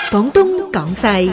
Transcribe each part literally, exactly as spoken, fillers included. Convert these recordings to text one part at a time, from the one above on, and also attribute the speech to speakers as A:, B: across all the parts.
A: 廣東廣西。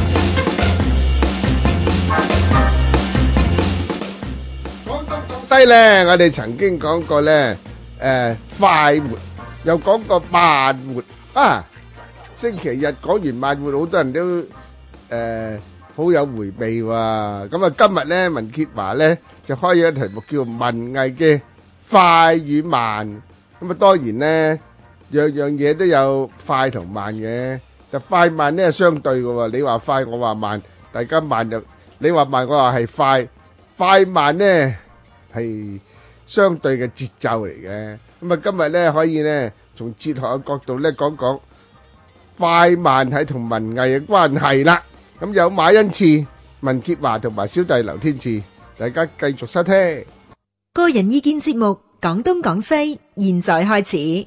B: 廣東廣西咧，我哋曾經講過咧，誒快活，又講過慢活啊。星期日講完慢活，好多人都誒好有回味喎。咁啊，今日咧文潔華咧就開咗題目叫文藝嘅快與慢。咁啊，當然咧樣樣嘢都有快同慢嘅，就快慢咧係相對嘅喎。你話快，我話慢，大家慢就你話慢，我話係快，快慢咧係相對嘅節奏嚟嘅。咁啊，今日咧可以咧從哲學嘅角度咧講講快慢係同文藝嘅關係啦。咁有馬恩賜、文潔華同埋小弟劉天賜，大家繼續收聽
A: 個人意見節目《廣東廣西》，現在開始。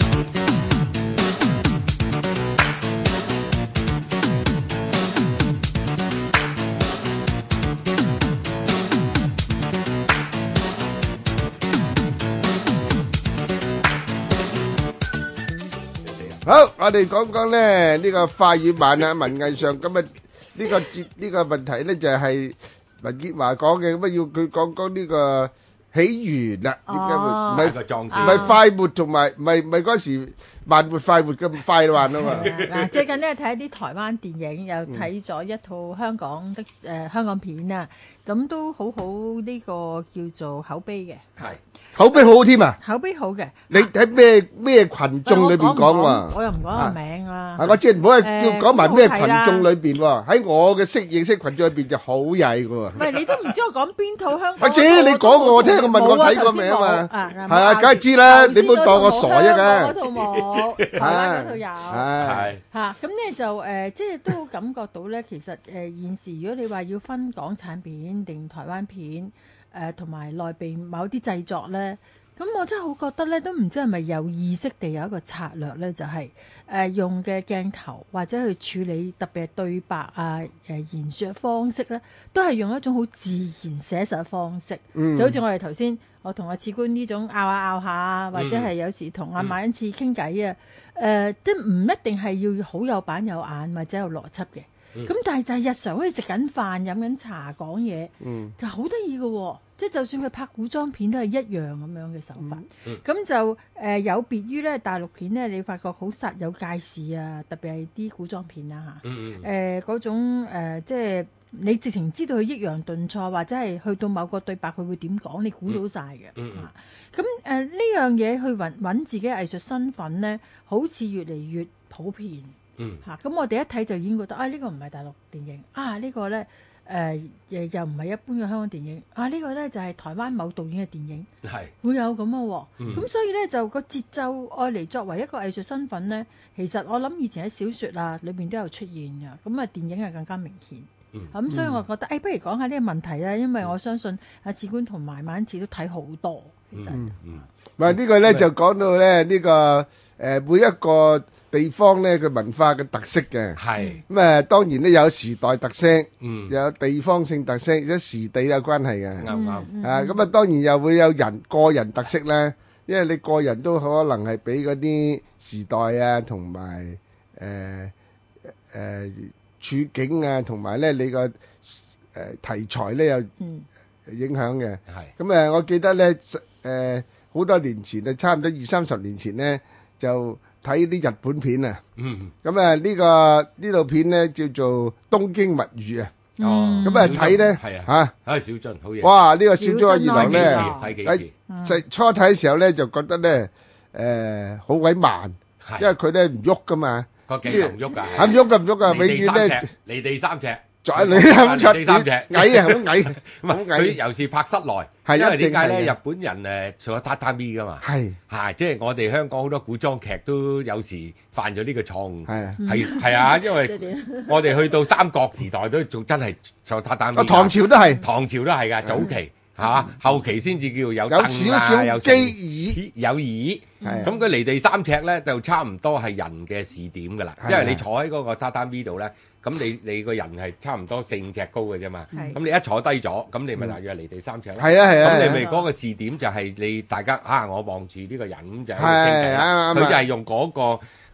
B: 好，我哋講講咧呢個快與慢啊，文藝上咁啊呢個節呢個問題咧就係文潔華講嘅，咁啊要佢講講呢個起源啦，點解會唔係
C: 個壯士
B: 唔係快活同埋唔係唔係嗰時慢活快活咁快慢啊嘛？
D: 嗱，最近咧睇一啲台灣電影，又睇咗一套香港的誒香港片啊，咁都好好呢個叫做口碑嘅，
C: 係
B: 口碑好好添啊！
D: 口碑好嘅。
B: 你喺咩咩群眾裏邊講喎？
D: 我又唔講個名啦。
B: 係我即係唔好係
D: 誒
B: 叫講埋咩群
D: 都係
B: 眾裏邊喎？喺我嘅識認識群眾裏邊就好曳嘅喎。
D: 唔係你都唔知我講邊套香港？
B: 或者你講我聽，我問我睇過未啊嘛？係啊，梗係知啦，你唔好當我傻啫嘅。
D: 嗰套冇，台灣嗰套有。
B: 係
D: 嚇，咁咧就誒，即係都感覺到咧，其實誒現時如果你話要分港產片定台灣片，誒同埋內地某啲製作咧。咁我真係好覺得咧，都唔知係咪有意識地有一個策略咧，就係、是、誒、呃、用嘅鏡頭或者去處理特別係對白啊、誒、呃、言説嘅方式咧，都係用一種好自然寫實嘅方式，嗯、就好似我哋頭先我同阿次官呢種拗下拗下，或者係有時同阿馬恩賜傾偈啊，誒即係唔一定係要好有板有眼或者有邏輯嘅。咁、嗯、但係就係日常好似食緊飯、飲緊茶、講嘢，其實好得意嘅喎。即係就算佢拍古裝片都係一樣咁樣嘅手法。咁、嗯嗯、就誒、呃、有別於咧大陸片咧，你發覺好實有介事啊，特別係啲古裝片啊嚇。誒嗰、嗯呃、種、呃、即係你直情知道佢抑揚頓挫，或者係去到某個對白佢會點講，你估到晒嘅。咁誒呢樣嘢去揾揾自己藝術身份咧，好似越嚟越普遍。嗯，嚇咁、啊、我哋一睇就已經覺得啊，呢、這個唔係大陸電影啊，這個、呢個咧誒誒又唔係一般嘅香港電影啊，這個、呢個咧就係、是、台灣某導演嘅電影，係是會有咁嘅喎。咁、嗯、所以咧就個節奏愛嚟作為一個藝術身份咧，其實我諗以前喺小説啊裏邊都有出現嘅，咁啊電影係更加明顯。咁、嗯嗯、所以我覺得誒、哎，不如講下呢個問題啦，因為我相信阿次官同埋馬恩賜都睇好多，其實。嗯嗯。
B: 唔係呢個咧就講到咧呢、這個誒、呃、每一個地方咧佢文化嘅特色嘅，係咁誒當然咧有時代特色，嗯，有地方性特色，有時地有關係嘅，啱唔啱？啊咁啊當然又會有人個人特色咧，因為你個人都可能係俾嗰啲時代啊同埋誒誒處境啊同埋咧你個誒、呃、題材咧有影響嘅，係咁誒我記得咧誒好多年前啊，差唔多二三十年前咧就。睇啲日本片啊，咁啊呢個呢套片咧叫做《東京物語》啊，咁啊睇咧嚇，
C: 啊小津好嘢，
B: 哇呢個小津安二郎咧，
C: 睇幾次，
B: 喺初睇嘅時候咧就覺得咧誒好鬼慢，因為佢咧唔喐噶嘛，
C: 個鏡頭唔喐㗎，
B: 係唔喐㗎唔喐㗎，永遠咧
C: 離地三尺。
B: 再你咁出
C: 地三尺
B: 矮啊，好矮，
C: 好矮。佢尤其拍室內，因為點解咧？日本人誒做咗榻榻米噶嘛，係係即係我哋香港好多古裝劇都有時犯咗呢個錯誤，係係係啊，因為我哋去到三國時代都仲真係做榻榻米。
B: 唐朝都係，
C: 唐朝都係㗎，早期嚇，後期先至叫有有
B: 少少機椅
C: 有椅。咁佢離地三尺咧，就差唔多係人嘅視點㗎啦，因為你坐喺嗰個榻榻米度咧。咁你你個人係差唔多四五尺高嘅啫嘛，咁你一坐低咗，咁你咪大約離地三尺咯。係啊係啊，咁你咪嗰個視點就係你大家啊，我望住呢個人咁就喺度傾偈啦。佢就係用嗰個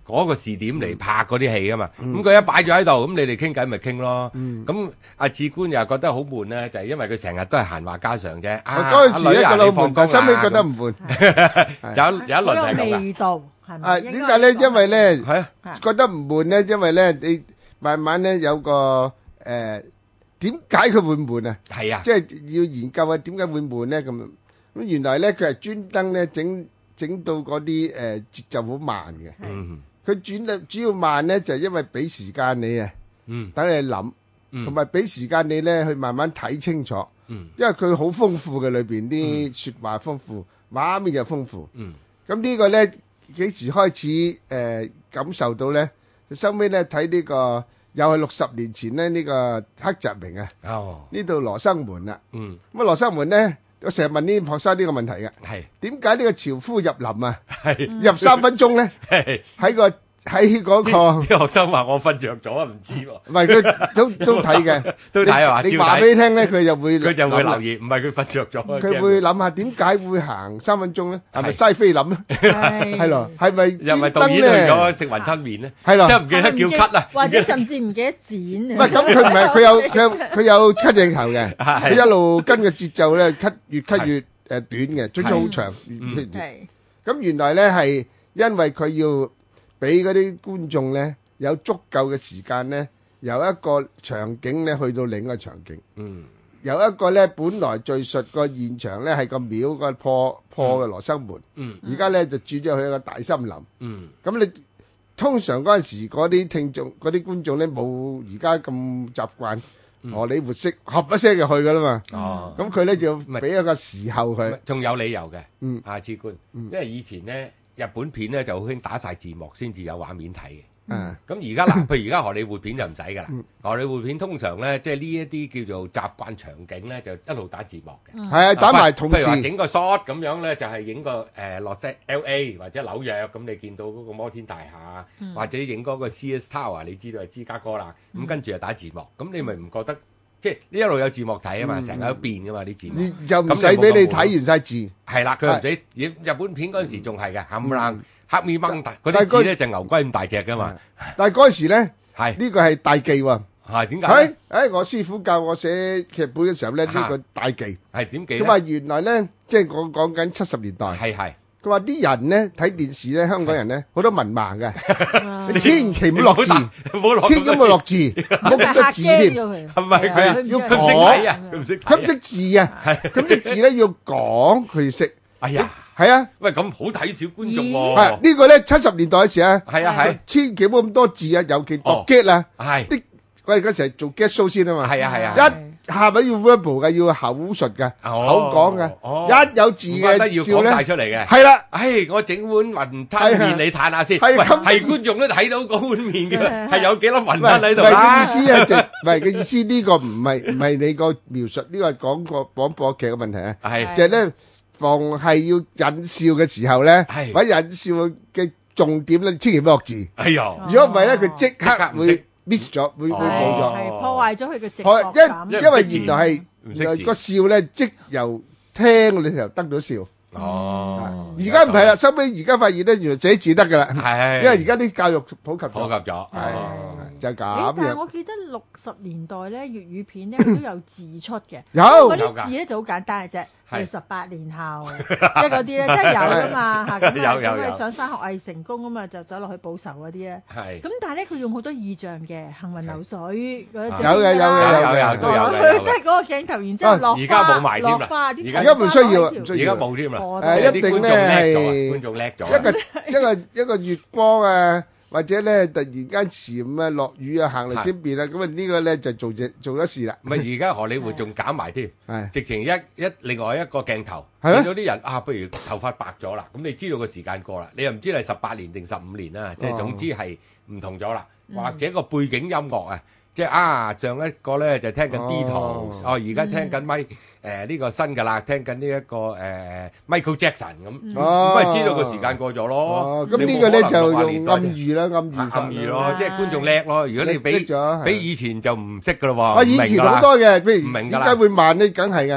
C: 嗰個視點嚟拍嗰啲戲啊嘛。咁佢一擺咗喺度，咁你哋傾偈咪傾咯。咁阿志官又覺得好悶咧，就係因為佢成日都係閒話家常啫。
B: 嗰陣時咧覺得好悶，但係後尾覺得唔悶。
C: 有有一輪係咁嘅。
D: 味道係咪？
B: 啊，點解咧？因為咧覺得唔悶咧，因為咧你慢慢咧有個誒點解佢會悶啊？係啊，即係要研究下點解會悶咧咁。咁原來咧佢係專登咧整整到嗰啲誒節奏好慢嘅。佢轉得主要慢咧，就係因為俾時間你啊，等你諗，同埋俾時間你咧去慢慢睇清楚。因為佢好豐富嘅裏邊啲説話豐富，畫面又豐富。咁呢個咧幾時開始誒感受到咧？收尾咧睇呢個又係六十年前咧呢個黑澤明啊，呢度羅生門啦。咁啊羅生門咧。我成日問呢啲學生呢個問題嘅，係點解呢個樵夫入林啊，入三分鐘咧？喺個喺嗰個
C: 啲學生話我瞓着咗啊，唔知喎。
B: 唔係佢都都睇嘅，
C: 都睇係嘛？
B: 你話俾你聽咧，佢就會
C: 佢就會留意，唔係佢瞓着咗。
B: 佢會諗下點解會行三分鐘咧？係咪嘥菲林咧？係咯，係咪
C: 又咪導演去咗食雲吞麵咧？
B: 係咯，
C: 即係唔記得叫咳啊，
D: 或者甚至唔記得剪啊。
B: 唔係咁，佢唔係佢有佢有佢有咳鏡頭嘅，佢一路跟個節奏咧咳越咳越誒短嘅，最終好長。係咁原來咧係因為佢要。俾嗰啲觀眾咧有足夠嘅時間咧，由一個場景咧去到另一個場景。嗯，由一個咧本來敘述個現場咧係個廟個破破嘅羅生門。嗯，而家咧就轉咗去一個大森林。嗯，咁你通常嗰陣時嗰啲聽眾、嗰啲觀眾咧冇而家咁習慣荷里活式合一聲就去噶啦嘛。哦，咁佢咧就俾一個時候佢。
C: 仲有理由嘅。嗯，阿志官，因為以前咧。日本片咧就好興打晒字幕先至有畫面睇嘅。嗯，咁而家嗱，譬如而家荷里活片就唔使噶啦。荷里活片通常咧，即係呢一啲叫做習慣場景咧，就一路打字幕嘅。係啊，打埋同時。譬如話整個 shot 咁樣咧，就係影個誒落 set L A 或者紐約，咁你見到嗰個摩天大廈，或者影嗰個 C S Tower，你知道係芝加哥啦。咁跟住就打字幕，咁你咪唔覺得？即係呢一路有字幕睇啊嘛，成日都變噶嘛啲字幕，
B: 你就唔使俾你睇完晒字。
C: 係啦，佢唔使。日本片嗰陣時仲係嘅，冚唪唥黑面掹大，嗰啲字咧就牛龜咁大隻噶嘛。
B: 但係嗰時咧，係呢個係大忌喎。
C: 係點解？
B: 誒，我師傅教我寫劇本嘅時候咧，呢個大忌。
C: 係點記？
B: 佢話原來咧，即係我講緊七十年代。係係。佢話啲人咧睇電視咧，香港人咧好多文盲嘅，你千祈唔好落字，千祈唔好落字，唔好咁多字添。
C: 係咪佢
B: 要
C: 佢唔識睇啊？佢唔識，
B: 佢唔識字啊！咁啲字咧要講佢識。
C: 哎呀，
B: 係啊，
C: 喂，咁好睇小觀眾喎。
B: 係呢個咧七十年代嘅時啊，
C: 係啊係，
B: 千祈唔好咁多字啊，尤其讀 get 啊，係啲我哋嗰時係做 get show 先啊嘛。係啊係啊，一。下邊要 verbal 嘅，要口述嘅，口講嘅，一有字嘅笑咧，
C: 出嚟嘅，
B: 係啦。
C: 唉，我整碗雲吞麵你嘆下先，係係觀眾都睇到嗰碗麵嘅，係有幾粒雲吞喺度啦。
B: 唔係嘅意思啊，就唔係嘅意思。呢個唔係唔係你個描述，呢個係講個廣播劇嘅問題啊。係就係咧，逢係要引笑嘅時候咧，或者引笑嘅重點咧，千祈唔好落字。哎呀，如果唔係咧，佢即刻會。miss 咗，會會冇咗，
D: 係破壞咗佢嘅直覺感。
B: 因因為原來係原來個笑咧，即由聽你就得到笑。哦，而家唔係啦，收尾而家發現咧，原來寫字得噶啦。係，因為而家啲教育普及
C: 普及咗，係
B: 就係咁。
D: 但係我記得六十年代咧，粵語片咧佢都有字出嘅。
B: 有
D: 嗰啲字咧就好簡單嘅啫。係十八年後，即係嗰啲咧，真係有噶嘛嚇，咁啊咁啊上山學藝成功啊嘛，就走落去報仇嗰啲咧。係。咁但係咧，佢用好多意象嘅，行雲流水嗰啲。
B: 有嘅有嘅有嘅
C: 都有嘅。
D: 佢都係嗰個鏡頭，然之後落花落花，
B: 而家唔需要，
C: 而家冇添啦。
B: 誒，一定咧係
C: 觀眾叻咗，
B: 一個一個一個月光啊！或者咧突然間禪啊落雨啊行嚟先變啦，咁啊呢個咧就做隻做咗事啦。
C: 唔係而家荷里活仲減埋添，直情一一另外一個鏡頭，見到啲人啊，不如頭髮白咗啦，咁你知道個時間過啦，你又唔知係十八年定十五年啦，即係總之係唔同咗啦，或者個背景音樂啊。即係啊，上一個咧就聽緊 Beatles，哦而家聽緊咪誒呢個新㗎啦，聽緊呢一個誒 Michael Jackson 咁，咁咪知道個時間過咗咯。
B: 咁呢個咧就用暗喻啦，暗喻
C: 暗喻咯，即係觀眾叻咯。如果你比比以前就唔識㗎咯喎。
B: 啊，以前好多嘅，譬如點解會慢咧？梗係嘅，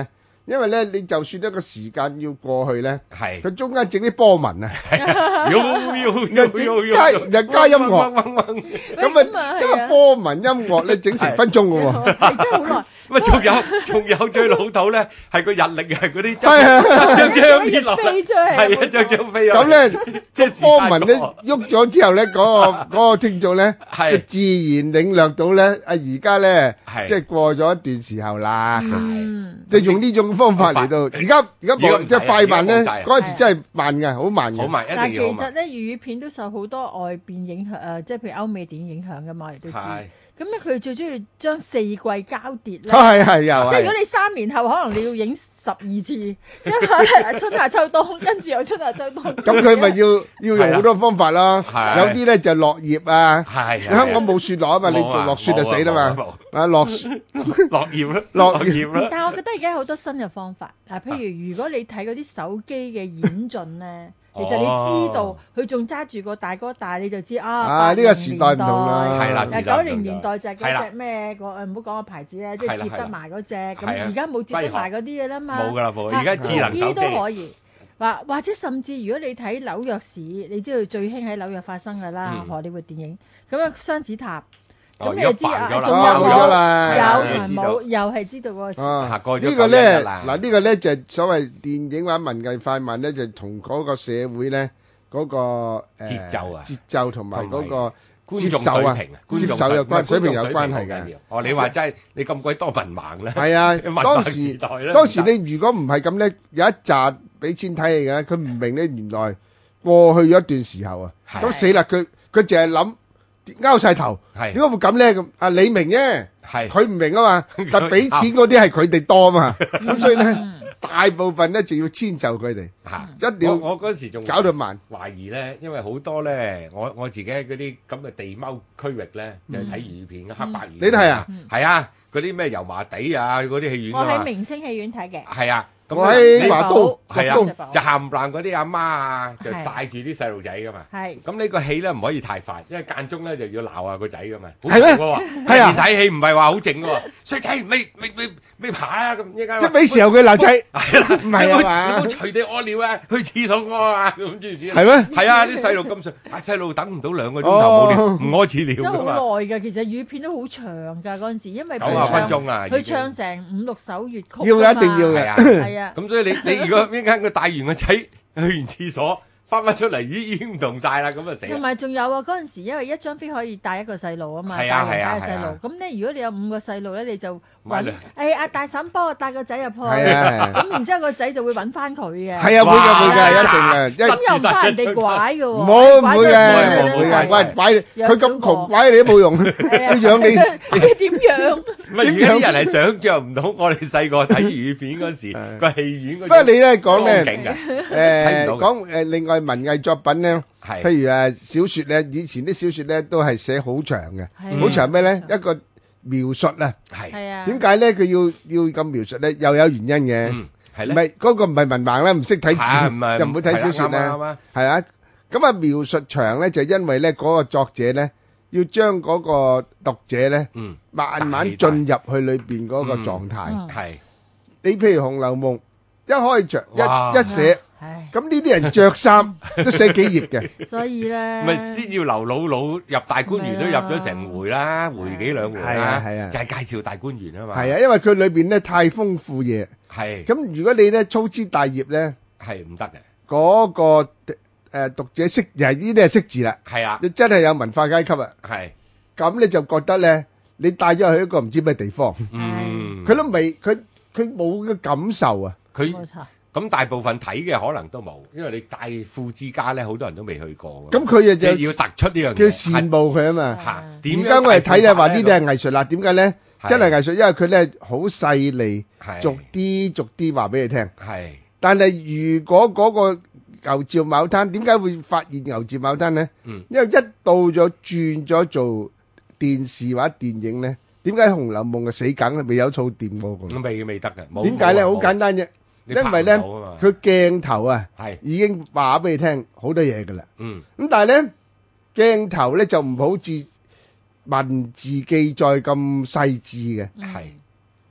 B: 因為咧，你就算一個時間要過去咧，
C: 係
B: 佢中間整啲波紋啊，
C: 有有
B: 又
C: 有有
B: 加又加音樂，咁
D: 咁啊
B: 啊加波紋音樂咧，整成分鐘嘅喎，
D: 係真係好耐。
C: 喂，仲有仲有最老土咧，係個日曆係嗰啲
B: 係啊
C: 張張跌落嚟，
D: 飛出嚟，
C: 係啊，張張飛
B: 咁咧
C: 即係
B: 波紋咧喐咗之後咧，嗰個嗰個聽眾咧
C: 係
B: 就自然領略到咧，啊而家咧
C: 係
B: 即係過咗一段時候啦，
D: 嗯，
B: 就用呢種方法嚟到。而家而家冇即係快慢咧，
C: 而家冇晒
B: 嗰陣時真係慢嘅，好慢嘅。
C: 好慢，一
D: 但係其
C: 定要好慢。
D: 實咧，粵語片都受好多外邊影響，誒，即係譬如歐美電影影響噶嘛，我哋都知。
C: 係
D: 咁咧，佢最中意將四季交疊咧。
B: 係係又係。
D: 即係如果你三年後，可能你要影十二次，即係可能春夏秋冬，跟住又春夏秋冬。
B: 咁佢咪要要用好多方法咯。
C: 係
B: 有啲咧就落葉啊。
C: 係
B: 香港冇雪落啊嘛，你做落雪就死啦嘛。啊落
C: 落葉啦，
B: 落
C: 落葉啦。
D: 但係我覺得而家有好多新嘅方法，嗱，譬如如果你睇嗰啲手機嘅演進咧，其實你知道佢仲揸住個大哥大，你就知啊。
B: 啊呢個時代唔同啦。
C: 係啦，
D: 誒九零年代就係嗰隻咩個誒唔好講個牌子咧，即係接得埋嗰隻，咁而家冇接得埋嗰啲嘅啦嘛。
C: 冇㗎啦，冇。而家智能手
D: 呢
C: 機
D: 都可以。或或者甚至如果你睇紐約市，你知道最興喺紐約發生㗎啦，荷里活電影咁啊雙子塔。咁你就知啊，仲有
B: 冇咗啦，
D: 有同埋冇，又係知道嗰個時。
B: 啊，呢個咧嗱，呢個咧就係所謂電影或者文藝快慢咧，就同嗰個社會咧嗰個
C: 節奏啊、
B: 節奏同埋嗰個
C: 觀眾水平啊、
B: 接受有關水平有關係嘅。
C: 哦，你話真係你咁鬼多文盲咧？
B: 係啊，當時當時你如果唔係咁咧，有一集俾錢睇戲嘅，佢唔明咧，原來過去咗一段時候啊，咁死啦！佢佢淨係諗。拗晒頭，點解會咁咧？咁啊，你明啫，佢唔明啊嘛。但係俾錢嗰啲係佢哋多啊嘛，咁所以咧，大部分咧就要遷就佢哋，一定要。
C: 我嗰時仲
B: 搞到慢，
C: 懷疑咧，因為好多咧，我我自己喺嗰啲咁嘅地踎區域咧，就係睇粵語片嘅黑白語。
B: 你都係啊？
C: 係啊，嗰啲咩油麻地啊，嗰啲戲院
D: 我喺明星戲院睇嘅。
C: 係啊。
B: 我喺華都，
C: 係啊，就冚唪唥嗰啲阿媽啊，就帶住啲細路仔噶嘛。係。咁呢個戲咧唔可以太快，因為間中咧就要鬧下個仔噶嘛。
B: 係咩？
C: 係啊。睇戲唔係話好靜噶喎，衰仔未未未未爬啊咁依家。
B: 即係俾時候佢鬧仔。係啦，唔係啊嘛。
C: 你唔好隨地屙尿啊，去廁所屙啊，咁知唔知？
B: 係咩？
C: 係啊，啲細路咁細，啊細路等唔到兩個鐘頭冇尿，唔屙廁尿㗎嘛。
D: 都好耐㗎，其實粵語片都好長㗎嗰陣時，因為
C: 九十分鐘啊，
D: 佢唱成五六首粵曲。
B: 要一定要嘅。
D: 係啊。
C: 咁所以你你。如果邊間佢帶完個仔去完廁所，翻返出嚟，咦已經唔同晒啦，咁啊死！
D: 同埋仲有啊，嗰陣時因為一張飛可以帶一個細路啊嘛，
C: 係啊係啊
D: 帶細路。咁咧，如果你有五個細路咧，你就
C: 揾
D: 誒阿大嬸幫我帶個仔入去，
B: 咁
D: 然之後個仔就會揾翻佢嘅。
B: 係啊，會嘅會嘅，一定嘅。
D: 咁又唔怕人哋拐嘅喎。
B: 唔好唔會嘅，唔會嘅，喂拐佢咁窮拐你都冇用，要養你。
D: 點養？
C: 唔係而家啲人係想像唔到，我哋細個睇粵語片嗰時個戲院嗰。
B: 不過你咧講咧，
C: 誒
B: 講誒另外文藝作品咧，譬如誒小説咧，以前啲小説咧都係寫好長嘅，好長咩咧？一個描述啊，
D: 係啊，
B: 點解咧？佢要要咁描述咧？又有原因嘅，
C: 係咧，
B: 唔係嗰個唔係文盲啦，唔識睇字就唔會睇小説咧，係啊。咁啊描述長咧，就因為咧嗰個作者咧要將嗰個讀者咧，慢慢進入去裏邊嗰個狀態。
C: 係
B: 你譬如《紅樓夢》，一開場一一寫。咁呢啲人着衫都寫幾頁嘅，
D: 所以咧，
C: 咪先要劉姥姥入大觀園都入咗成回啦，回幾兩回啦，
B: 係啊，
C: 就係介紹大觀園啊嘛。
B: 係啊，因為佢裏邊咧太豐富嘢。
C: 係。
B: 咁如果你咧粗枝大葉咧，
C: 係唔得嘅。
B: 嗰個誒讀者識，又係呢啲係識字啦。
C: 係啊。
B: 你真係有文化階級啊。
C: 係。
B: 咁你就覺得咧，你帶咗去一個唔知咩地方。
C: 嗯。
B: 佢都未，佢佢冇嘅感受啊。
C: 佢。
D: 冇錯。
C: 咁大部分睇嘅可能都冇，因為你大富之家咧，好多人都未去過。
B: 咁佢就
C: 要突出呢樣嘢，
B: 叫羨慕佢啊嘛。
C: 嚇，
B: 點解我哋睇就話呢啲係藝術啦？點解咧？真係藝術，因為佢咧好細膩，逐啲逐啲話俾你聽。
C: 係。但
B: 係如果嗰個牛照牡丹，點解會發現牛照牡丹咧？嗯。因為一到咗轉咗做電視或者電影咧，點解《紅樓夢》嘅死梗未有套掂過嘅？
C: 未未得嘅。
B: 點解咧？好簡單啫。因為咧，佢鏡頭啊，已經話俾你聽好多嘢噶啦。嗯。咁但係咧，鏡頭咧就唔好似文字記載咁細緻嘅。
C: 係。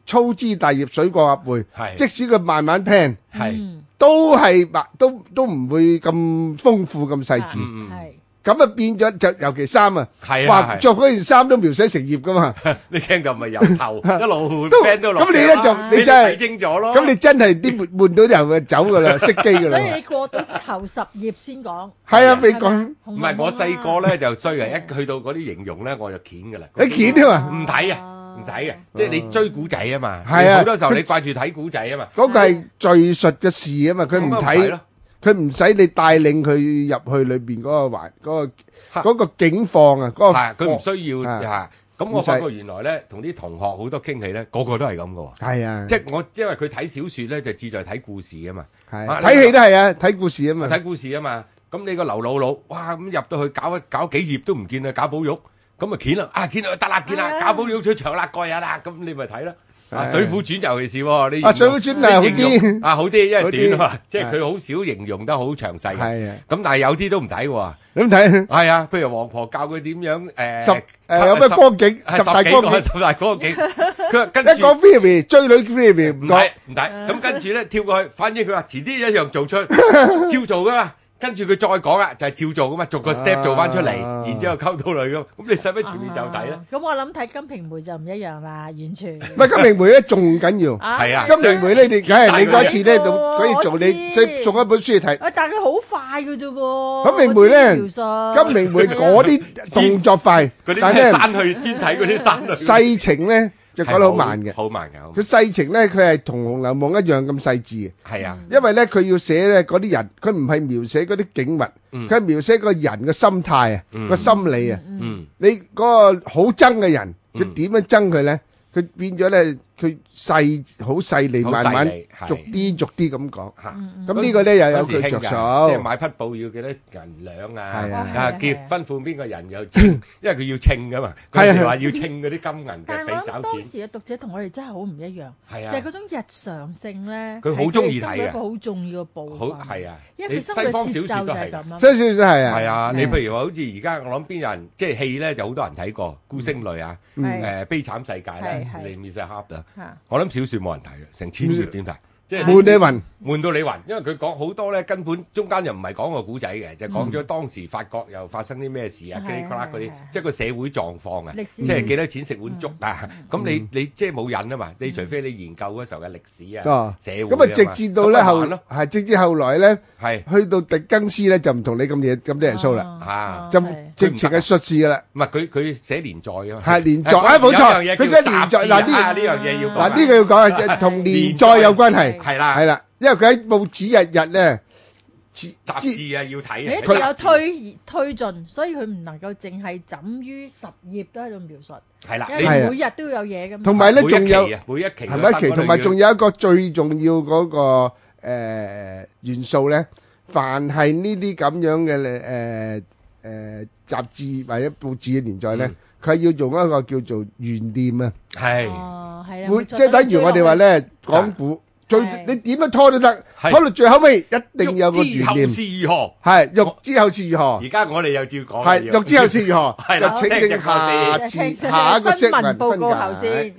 B: 粗枝大葉水過鴨背，
C: 係
B: 即使佢慢慢 plan，
C: 係
B: 都係白都都唔會咁豐富咁細緻。
D: 係
B: 咁啊變咗就尤其衫啊，
C: 係啊
B: 話着嗰件衫都描寫成頁噶嘛。
C: 你驚咁咪由頭一路 plan 到落。
B: 咁你咧就你真係
C: 睇清咗咯。
B: 咁你真係啲悶到人就走噶啦，熄機噶啦。
D: 所以你過到頭十頁先講。
B: 係啊，未講。
C: 唔係我細個咧就衰啊，一去到嗰啲形容咧我就鉗噶啦。
B: 你鉗啊嘛？
C: 唔睇啊！唔睇嘅，即係你追古仔啊嘛。
B: 係啊，
C: 好多時候你掛住睇古仔啊嘛。
B: 嗰個係敘述嘅事啊嘛，佢唔睇，佢唔使你帶領佢入去裏邊嗰個環嗰個嗰個境況啊。嗰
C: 個佢唔需要嚇。咁我發覺原來咧，同啲同學好多傾偈咧，個個都係咁嘅喎。
B: 係啊，
C: 即係我因為佢睇小説咧，就志在睇故事啊嘛。
B: 係睇戲都係啊，睇故事啊嘛。
C: 睇故事啊嘛。咁你個劉姥姥，哇咁入到去搞一搞幾頁都唔見啊，搞寶玉。咁啊，見啦，啊見啦，得啦，見啦，搞寶玉出場啦，過癮啦，咁你咪睇啦。啊，《水滸傳》尤其是喎，你
B: 啊，《水滸傳》係好啲，
C: 啊好啲，因為短啊嘛，即係佢好少形容得好詳細嘅。係啊，咁但係有啲都唔睇喎。點睇？係啊，譬如王婆教佢點樣誒，十
B: 誒有咩光景，十大光景，
C: 十大光景。佢跟住
B: 一個 Phoebe 追女 Phoebe
C: 唔睇唔睇，咁跟住咧跳過去，反正佢話遲啲一樣做出，照做噶嘛。跟住佢再講啦，就係照做噶嘛，逐個 step 做翻出嚟，然之後溝到女咁。咁你使乜全面就睇咧？
D: 咁我諗睇《金瓶梅》就唔一樣啦，完全。
B: 唔係《金瓶梅》咧，仲緊要。係啊，《金瓶梅》咧，你梗係你嗰次咧，可以做你即送一本書嚟睇。
D: 啊，但係佢好快嘅啫喎。
B: 《金瓶梅》咧，《金瓶梅》嗰啲動作快，
C: 嗰啲咩山去專睇嗰啲山去。
B: 細情咧。就講得好慢嘅，
C: 好慢嘅。
B: 佢細情咧，佢係同《紅樓夢》一樣咁細緻嘅。
C: 係啊，
B: 因為咧佢要寫咧嗰啲人，佢唔係描寫嗰啲景物，佢係描寫個人嘅心態啊，個心理啊。你嗰個好憎嘅人，佢點樣憎佢咧？佢變咗咧，佢細好細膩，慢慢逐啲逐啲咁講。咁呢個咧又有佢着數。
C: 即係買匹布要幾多銀兩啊？啊結婚款邊個人又稱，因為佢要稱噶嘛。佢哋話要稱嗰啲金銀嘅俾找錢。
D: 但係我諗當時嘅讀者同我哋真係好唔一樣。係啊，就係嗰種日常性咧。
C: 佢好中意睇嘅。
D: 一個好重要嘅部分。
C: 好係啊，
D: 因為
C: 西方小説都係
D: 咁啊。
B: 西方小説係啊。
C: 係啊，你譬如話好似而家我諗邊有人即係戲咧就好多人睇過《孤星淚》啊，誒悲慘世界咧。我諗小說冇人睇嘅，成千頁點睇？即係
B: 悶你暈，
C: 悶到你暈，因為佢講好多咧，根本中間又唔係講個古仔嘅，就講咗當時法國又發生啲咩事啊，嘰哩呱啦嗰啲，即係個社會狀況啊，即係幾多錢食碗粥啊？咁你你即係冇癮啊嘛？你除非你研究嗰時候嘅歷史啊，社會
B: 咁啊，直至到咧後係直至後來咧，
C: 係
B: 去到狄更斯咧就唔同你咁嘢咁多人數啦，
C: 啊，
B: 就直情係術士噶啦。
C: 唔係佢佢寫連載啊嘛，
B: 係連載啊，冇錯，佢寫連載嗱呢
C: 呢樣嘢要
B: 嗱呢個要講啊，同連載有關係。
C: 係啦，
B: 係啦，因為佢喺報紙日日咧，
C: 雜誌啊要睇，
D: 佢有推推進，所以佢唔能夠淨係枕於十頁都喺度描述。
C: 係啦，
D: 你每日都有嘢咁。
B: 同埋咧，仲有
C: 每一期
B: 係咪一期？同埋仲有一個最重要嗰個誒元素咧，凡係呢啲咁樣嘅誒誒雜誌或者報紙嘅連載咧，佢係要用一個叫做懸念啊。
C: 係。
D: 哦，係啊。
B: 會即係等於我哋話咧講古。最你點樣拖都得，拖到最後尾一定有個懸念。
C: 欲知後事如何？
B: 係欲知後事如何？
C: 而家我哋又照講。
B: 係欲知後事如何？就請聽下次下一個新聞
D: 報告後先。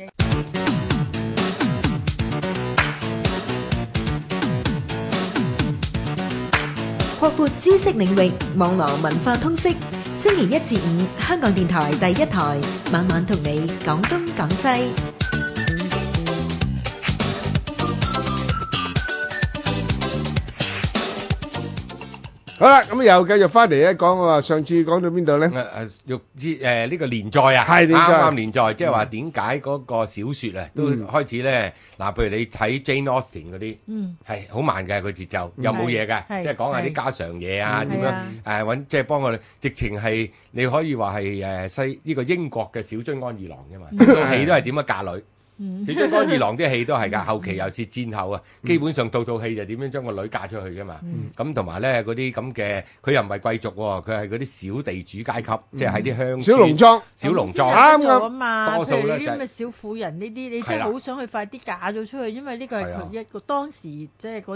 A: 擴闊知識領域，網絡文化通識。星期一至五，香港電台第一台，晚晚同你講東講西。
B: 好啦，咁又繼續翻嚟咧，講我話上次講到邊度咧？
C: 誒誒，欲知誒呢個連載啊，
B: 係連載，
C: 啱啱連載，即係話點解嗰個小説啊都開始咧？嗱，譬如你睇 Jane Austen 嗰啲，係好慢嘅，佢節奏又冇嘢嘅，即係講下啲家常嘢啊，點樣誒揾，即係幫我哋，直情係你可以話係誒西呢個英國嘅小津安二郎啫嘛，套戲都係點樣嫁女。小津安二郎啲戲都係㗎，後期又是戰後啊，基本上套套戲就點樣將個女嫁出去㗎嘛。咁同埋咧嗰啲咁嘅，佢又唔係貴族喎，佢係嗰啲小地主階級，即係喺啲鄉
B: 小農莊、
D: 小
B: 啱
D: 農啱啊嘛。
C: 多數咧
D: 譬如呢啲咁嘅小婦人呢啲，你真係好想去快啲嫁咗出去，因為呢個係佢一個當時即係嗰啲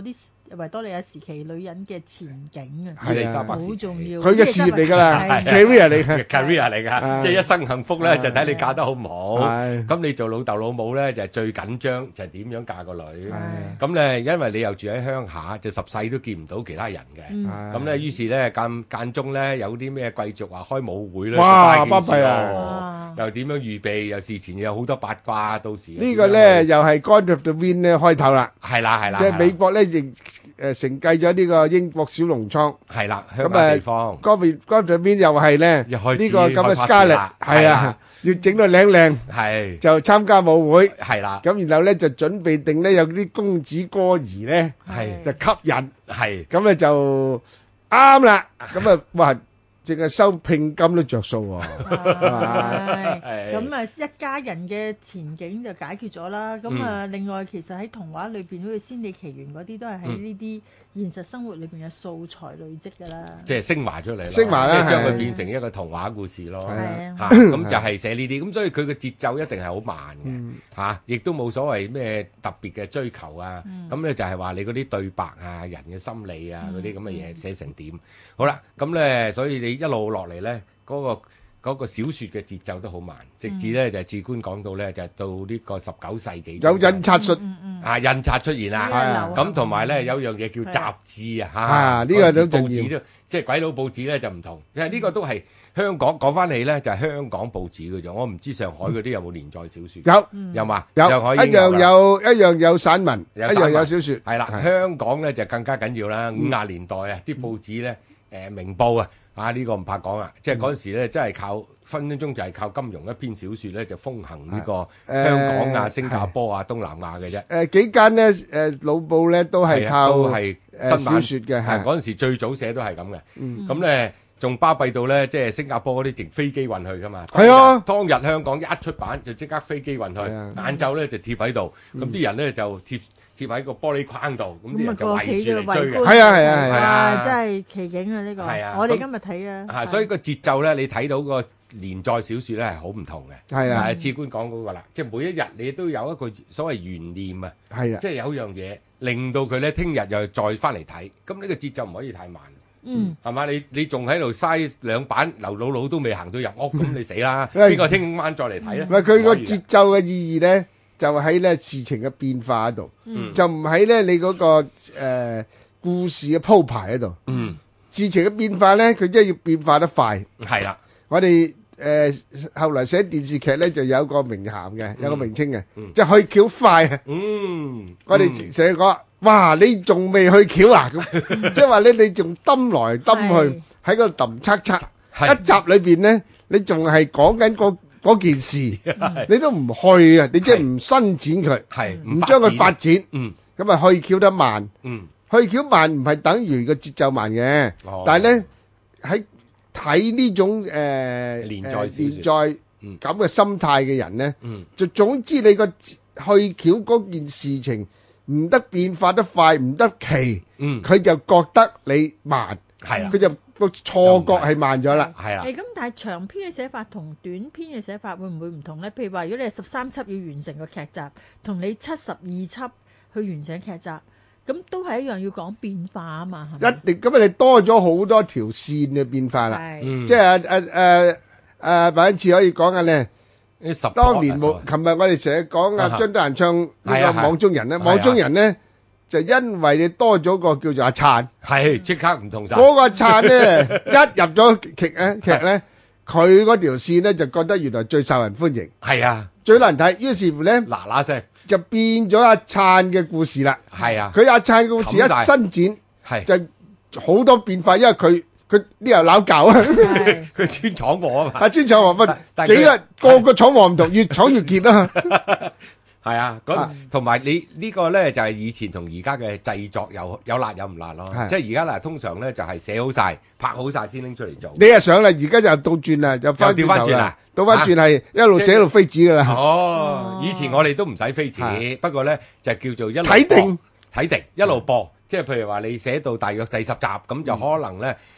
D: 維多利亞時期女人嘅前景啊，
C: 伊麗莎白
D: 好重要。
B: 佢嘅事業嚟㗎啦，career 嚟㗎
C: ，career 嚟㗎，即係一生幸福咧就睇你嫁得好唔好。咁你做老豆老母咧就係最緊張就係點樣嫁個女。咁咧因為你又住喺鄉下，就十世都見唔到其他人嘅。咁咧於是咧間間中咧有啲咩貴族話開舞會咧，
B: 哇，巴閉啊！
C: 又點樣預備？又事前有好多八卦，到時
B: 呢個咧又係 Gone with the Wind 咧開頭啦。
C: 係啦係啦，
B: 即係美國咧亦誒承繼咗呢個英國小農倉。
C: 係啦，鄉下地方。
B: Gone with Gone with the Wind又係咧呢個咁嘅 Scarlett 係啊，要整到靚靚，係就參加舞會。係啦，咁然後咧就準備定咧有啲公子哥兒咧，係就吸引，係咁咧就啱啦。咁啊哇！淨係收聘金都着數喎，
D: 係咁啊！一家人嘅前景就解決咗啦。咁啊，另外其實喺童話裏邊，好似《仙履奇緣》嗰啲，都係喺呢啲現實生活裏邊嘅素材累積㗎啦。
C: 即係升華出嚟咯，
B: 升華啦，
C: 即係將佢變成一個童話故事咯。
D: 係啊，
C: 嚇咁就係寫呢啲，咁所以佢嘅節奏一定係好慢嘅嚇，亦都冇所謂咩特別嘅追求啊。咁咧就係話你嗰啲對白啊、人嘅心理啊嗰啲咁嘅嘢寫成點？好啦，咁咧所以你一路落嚟咧，嗰個嗰個小説嘅節奏都好慢，直至咧就係至官講到咧就係到呢個十九世紀
B: 有印刷術
C: 啊，印刷出現啦，咁同埋咧有樣嘢叫雜誌啊，嚇
B: 呢個都
C: 報紙都即係鬼佬報紙咧就唔同，因為呢個都係香港講翻起咧就係香港報紙嘅啫，我唔知上海嗰啲有冇連載小説，
B: 有
C: 有嘛？
B: 有一樣有一樣有散文，一樣有小説，
C: 係啦，香港咧就更加緊要啦，五廿年代啊啲報紙咧。誒明報啊，啊呢個唔怕講啊，即係嗰陣時咧，真係靠分分鐘就係靠金庸一篇小説咧，就風行呢個香港啊、新加坡啊、東南亞嘅啫。誒
B: 幾間咧誒老報咧都係靠
C: 都係
B: 誒小説嘅，係
C: 嗰陣時最早寫都係咁嘅。咁咧仲巴閉到咧，即係新加坡嗰啲直飛機運去噶嘛。係啊，當日香港一出版就即刻飛機運去，晏晝咧就貼喺度，咁啲人咧就貼。貼喺個玻璃框度，咁啲人就圍住嚟追嘅。
B: 係啊係啊係
D: 啊！真係奇景啊呢個。係啊，我哋今日睇啊。
C: 係，所以個節奏咧，你睇到個連載小説咧係好唔同嘅。係啊，至官講嗰個啦，即係每一日你都有一個所謂懸念啊。係啊，即係有樣嘢令到佢咧，聽日又再翻嚟睇，咁呢個節奏唔可以太慢。嗯，係嘛？你你仲喺度嘥兩版，劉姥姥都未行到入屋，咁你死啦！邊個聽晚再嚟睇咧？
B: 唔係佢個節奏嘅意義咧。就喺咧事情嘅變化嗰度，嗯、就唔喺咧你嗰、那個誒、呃、故事嘅鋪排嗰度。嗯，事情嘅變化咧，佢真係要變化得快。係啦，我哋誒、呃、後來寫電視劇咧，就有個名銜嘅，有個名稱嘅，嗯、即係去橋快啊。嗯，我哋成日講，哇！你仲未去橋啊？咁即係話咧，你仲揼來揼去喺嗰度揼測測，一集裏邊咧，你仲係講緊個。嗰件事你都唔去啊！你即係唔伸展佢，係唔將佢發展，嗯，咁啊去橋得慢，嗯，去橋慢唔係等於個節奏慢嘅，但係咧喺睇呢種誒連載連載咁嘅心態嘅人咧，嗯，就總之你個去橋嗰件事情唔得變化得快，唔得奇，嗯，佢就覺得你慢，係啊，佢就。個錯覺係慢咗啦，係啊。
D: 誒咁，但係長篇嘅寫法同短篇嘅寫法會唔會唔同咧？譬如話，如果你係十三輯要完成個劇集，同你七十二輯去完成劇集，咁都係一樣要講變化啊嘛，係咪？
B: 一定咁啊！你多咗好多條線嘅變化啦，即係誒誒誒，第一次可以講嘅咧。當年冇，琴日我哋成日講啊，張德蘭唱呢個網中人咧，網中人咧。就因為你多咗個叫做阿燦，
C: 係即刻唔同晒。
B: 嗰個阿燦咧，一入咗劇咧劇咧，佢嗰條線咧就覺得原來最受人歡迎。係啊，最難睇。於是乎咧，嗱嗱聲就變咗阿燦嘅故事啦。係啊，佢阿燦嘅故事一伸展，係就好多變化，因為佢佢呢又拗教啊，
C: 佢專闖禍啊嘛。
B: 啊，專闖禍乜？幾個個個闖禍唔同，越闖越傑啊！
C: 係啊，咁同埋你呢個咧就係以前同而家嘅製作有有辣有唔辣咯，即係而家嗱通常咧就係寫好晒拍好晒先拎出嚟做。
B: 你又上啦，而家就倒轉啦，就翻
C: 調翻轉啦，
B: 倒翻轉係一路寫一路飛紙噶啦。
C: 哦，以前我哋都唔使飛紙，不過咧就叫做一路
B: 睇定
C: 睇定一路播，即係譬如話你寫到大約第十集咁就可能咧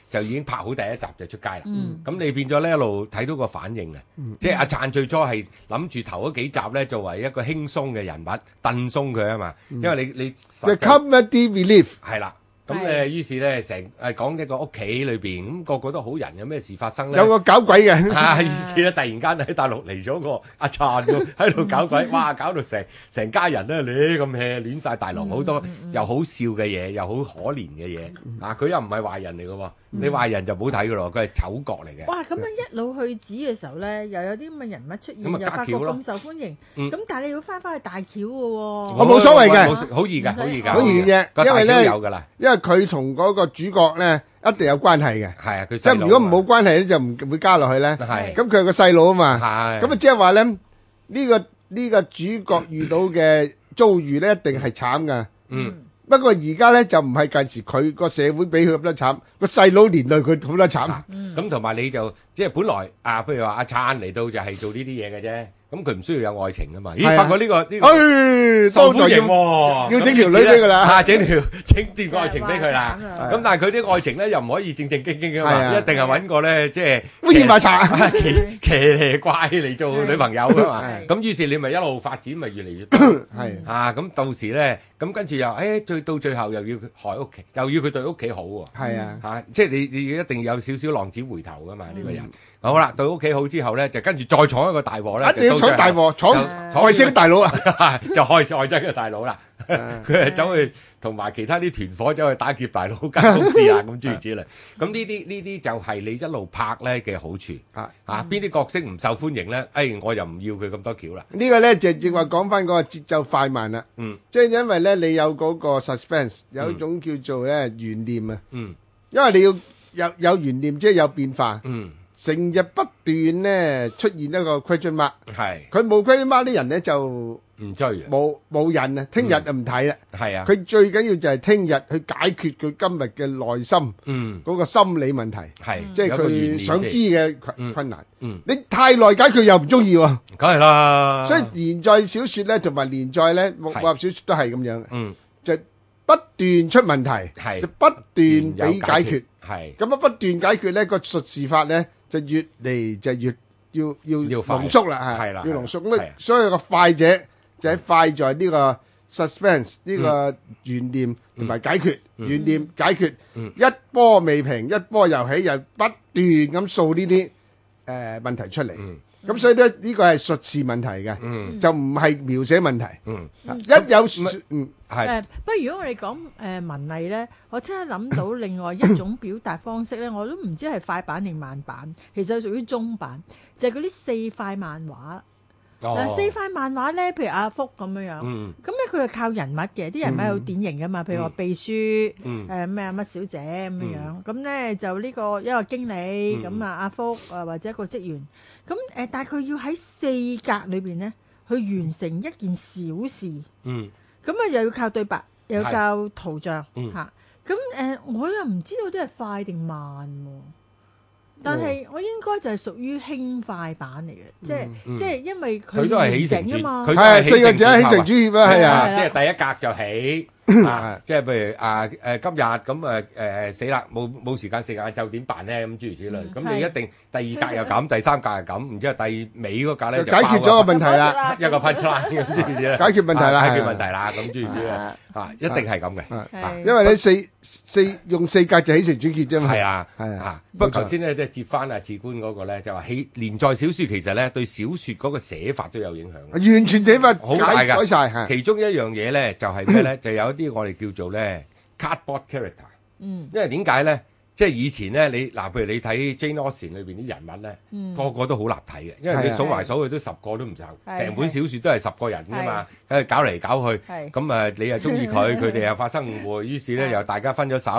C: 就已經拍好第一集就出街啦。咁你變咗咧一路睇到個反應啊！即係阿燦最初係諗住頭嗰幾集咧作為一個輕鬆嘅人物，燉鬆佢啊嘛。因為你你
B: 就 comedy relief
C: 係啦。咁誒，於是咧成誒講一個屋企裏邊，咁個個都好人，有咩事發生咧？
B: 有個搞鬼嘅，
C: 啊！於是咧突然間喺大陸嚟咗個阿燦喺度搞鬼，哇！搞到成成家人咧亂咁 hea，亂曬大龍，好多又好笑嘅嘢，又好可憐嘅嘢。啊！佢又唔係壞人嚟嘅喎，你壞人就唔好睇嘅咯，佢係丑角嚟嘅。
D: 哇！咁樣一路去指嘅時候咧，又有啲咁嘅人物出現，又發覺咁受歡迎。咁但係你要翻返去大橋嘅喎，
B: 我冇所謂嘅，
C: 好易㗎，好易㗎，
B: 好易嘅，因為咧
C: 有㗎啦，
B: 因為佢同嗰個主角咧一定有關係嘅。
C: 係啊，佢
B: 即係如果唔冇關係咧，就唔會加落去咧。
C: 係，
B: 咁佢係個細佬啊嘛。
C: 係，
B: 咁啊即係話咧呢個呢個主角遇到嘅遭遇咧，一定係慘㗎。
C: 嗯。
B: 不過而家咧就唔係近時佢個社會俾佢咁多慘，個細佬連累佢好多慘。
C: 咁同埋你就即係本來啊，譬如話阿燦嚟到就係做呢啲嘢嘅啫。咁佢唔需要有愛情噶嘛？咦，發覺呢個呢個受歡迎喎，
B: 要整條女俾佢啦，
C: 嚇整條整段愛情俾佢啦。咁但係佢啲愛情咧又唔可以正正經經噶嘛，一定係揾個咧即係
B: 烏煙馬茶、
C: 騎騎呢怪嚟做女朋友噶嘛。咁於是你咪一路發展，咪越嚟越多。係啊，咁到時咧，咁跟住又誒，最到最後又要害屋企，又要佢對屋企好喎。
B: 係啊，
C: 嚇，即係你你一定有少少浪子回頭噶嘛呢個人。好啦，對屋企好之後咧，就跟住再闖一個大禍咧。
B: 一定要闖大禍，闖外星大佬啊，
C: 就開外星嘅大佬啦。佢係走去同埋其他啲團伙走去打劫大佬間公司啊，咁諸如此類。咁呢啲呢啲就係你一路拍咧嘅好處。啊啊，邊啲角色唔受歡迎咧？誒，我又唔要佢咁多橋啦。
B: 呢個咧就正話講翻嗰個節奏快慢啦。
C: 嗯，
B: 即係因為咧你有嗰個 suspense，有一種叫做咧懸念啊。
C: 嗯，
B: 因為你要有有懸念，即係有變化。
C: 嗯。
B: 成日不斷咧出現一個 question mark，
C: 係
B: 佢冇 question mark 啲人咧就
C: 唔追嘅，
B: 冇冇癮啊！聽日就唔睇啦。
C: 係啊，
B: 佢最緊要就係聽日去解決佢今日嘅內心，
C: 嗯，
B: 嗰個心理問題，
C: 係
B: 即係佢想知嘅困困難。
C: 嗯，
B: 你太耐解決又唔中意喎，
C: 梗係啦。
B: 所以連載小説咧同埋連載咧武俠小説都係咁樣嘅，
C: 嗯，
B: 就不斷出問題，
C: 係
B: 就不斷俾解決，
C: 係
B: 咁啊不斷解決咧個術士法咧。就越嚟就越要要濃縮啦，
C: 係啦，
B: 要濃縮咁啊！所以個快者就喺快在呢個 suspense 呢個懸念同埋解決懸念解決，一波未平一波又起，又不斷咁掃呢啲誒問題出嚟。咁所以咧呢個係術士問題嘅，就唔係描寫問題。一有嗯
D: 係，不過如果我哋講誒文藝咧，我即刻諗到另外一種表達方式咧，我都唔知係快版定慢版，其實屬於中版，就係嗰啲四塊漫畫。嗱，四塊漫畫咧，譬如阿福咁樣樣，咁咧佢係靠人物嘅，啲人物好典型噶嘛，譬如話秘書，誒咩啊乜小姐咁樣樣，咁咧就呢個一個經理，咁啊阿福啊或者一個職員，咁誒但係佢要喺四格裏邊咧去完成一件小事。嗯。咁啊，又要靠對白，又要靠圖像嚇。咁誒，我又唔知道啲係快定慢喎。但係我應該就係屬於輕快版嚟嘅，即係即係因為佢完整啊嘛。
B: 係四個字起承轉合啊，係啊，
C: 即係第一格就起。啊，即係譬如啊誒今日咁誒誒死啦，冇冇時間食晏晝點辦咧？咁諸如此類，咁你一定第二格又咁，第三格又咁，然之後第尾嗰格咧就
B: 解決咗個問題啦，
C: 一個 punchline 咁諸如此類，
B: 解決問題啦，
C: 解決問題啦，咁諸如此類啊，一定係咁嘅，
B: 因為你四四用四格就起承轉結啫嘛。
C: 係啊，係啊。不過頭先咧即係接翻阿志官嗰個咧，就話起連載小説其實咧對小説嗰個寫法都有影響，
B: 完全寫法
C: 好大㗎，
B: 改曬。
C: 其中一樣嘢咧就係咩咧？就有啲我哋叫做咧 cardboard character，嗯，因為點解咧？即係以前咧，你嗱，譬如你睇 Jane Austen 裏邊啲人物咧，嗯、個個都好立體嘅，因為你數埋數去都十個都唔夠，成本小説都係十個人㗎嘛，喺度搞嚟搞去，咁誒你又中意佢，佢哋又發生誤會，於是咧又大家分咗手。